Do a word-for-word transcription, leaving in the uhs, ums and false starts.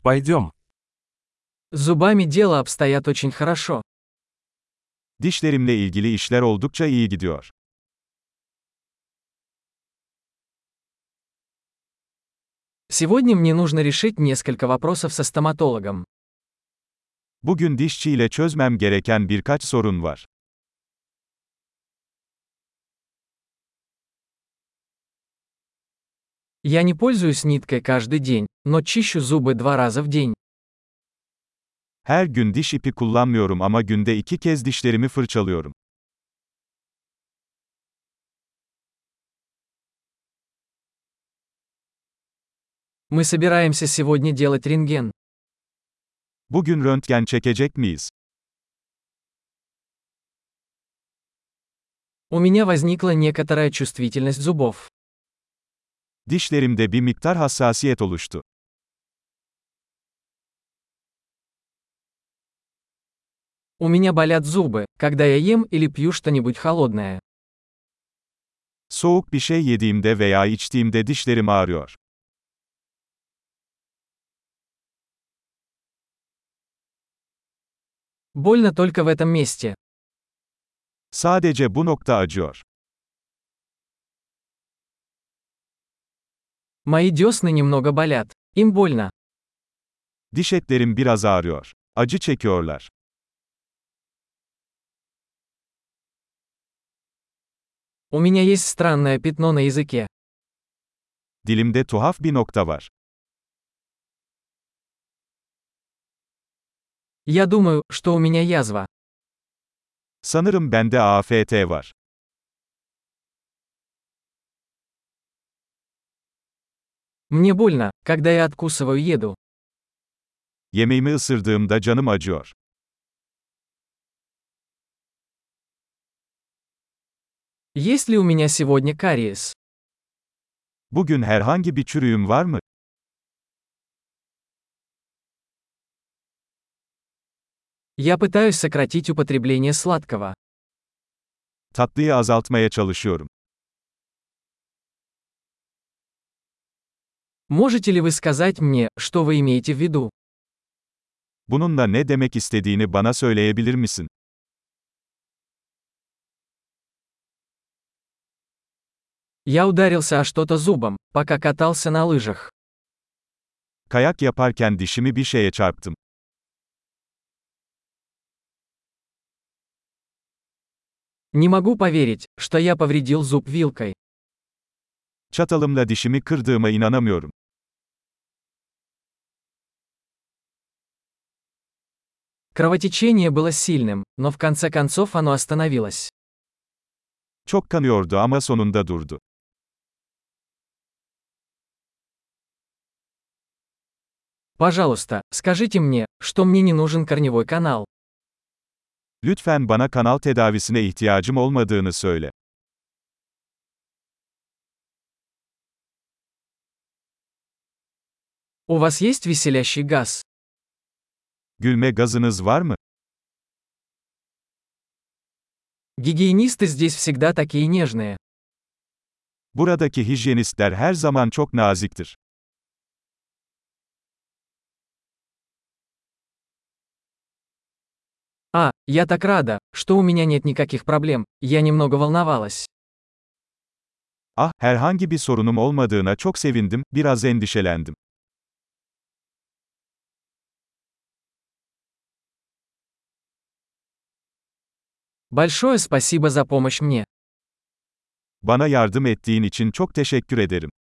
Пойдем. С зубами дело обстоят очень хорошо. Dişlerimle ilgili işler oldukça iyi gidiyor. Сегодня мне нужно решить несколько вопросов со стоматологом. Bugün dişçiyle çözmem gereken birkaç sorun var. Я не пользуюсь ниткой каждый день, но чищу зубы два раза в день. Her gün diş ipi kullanmıyorum ama günde iki kez dişlerimi fırçalıyorum. Мы собираемся сегодня делать рентген. Bugün röntgen çekecek miyiz? У меня возникла некоторая чувствительность зубов. Dişlerimde bir miktar hassasiyet oluştu. У меня болят зубы, когда я ем или пью что-нибудь холодное. Soğuk bir şey yediğimde veya içtiğimde dişlerim ağrıyor. Больно только в этом месте. Sadece bu nokta acıyor. Мои десны немного болят. Им больно. Diş etlerim biraz ağrıyor. Acı çekiyorlar. У меня есть странное пятно на языке. Dilimde tuhaf bir nokta var. Я думаю, что у меня язва. Sanırım bende A F T var. Мне больно, когда я откусываю еду. Yemeğimi ısırdığımda canım acıyor. Есть ли у меня сегодня кариес? Bugün herhangi bir çürüğüm var mı? Я пытаюсь сократить употребление сладкого. Tatlıyı azaltmaya çalışıyorum. Можете ли вы сказать мне, что вы имеете в виду? Bununla ne demek istediğini bana söyleyebilir misin? Я ударился о что-то зубом, пока катался на лыжах. Kayak yaparken dişimi bir şeye çarptım. Не могу поверить, что я повредил зуб вилкой. Çatalımla dişimi kırdığıma inanamıyorum. Кровотечение было сильным, но в конце концов оно остановилось. Çok kanıyordu ama sonunda durdu. Пожалуйста, скажите мне, что мне не нужен корневой канал. Lütfen bana kanal tedavisine ihtiyacım olmadığını söyle. У вас есть веселящий газ? Gülme gazınız var mı? Гигиенисты здесь всегда такие нежные. Buradaki hijyenistler her zaman çok naziktir. А, я так рада, что у меня нет никаких проблем, я немного волновалась. Ah, herhangi bir sorunum olmadığına çok sevindim, biraz endişelendim. Большое спасибо за помощь мне. Bana yardım ettiğin için çok teşekkür ederim.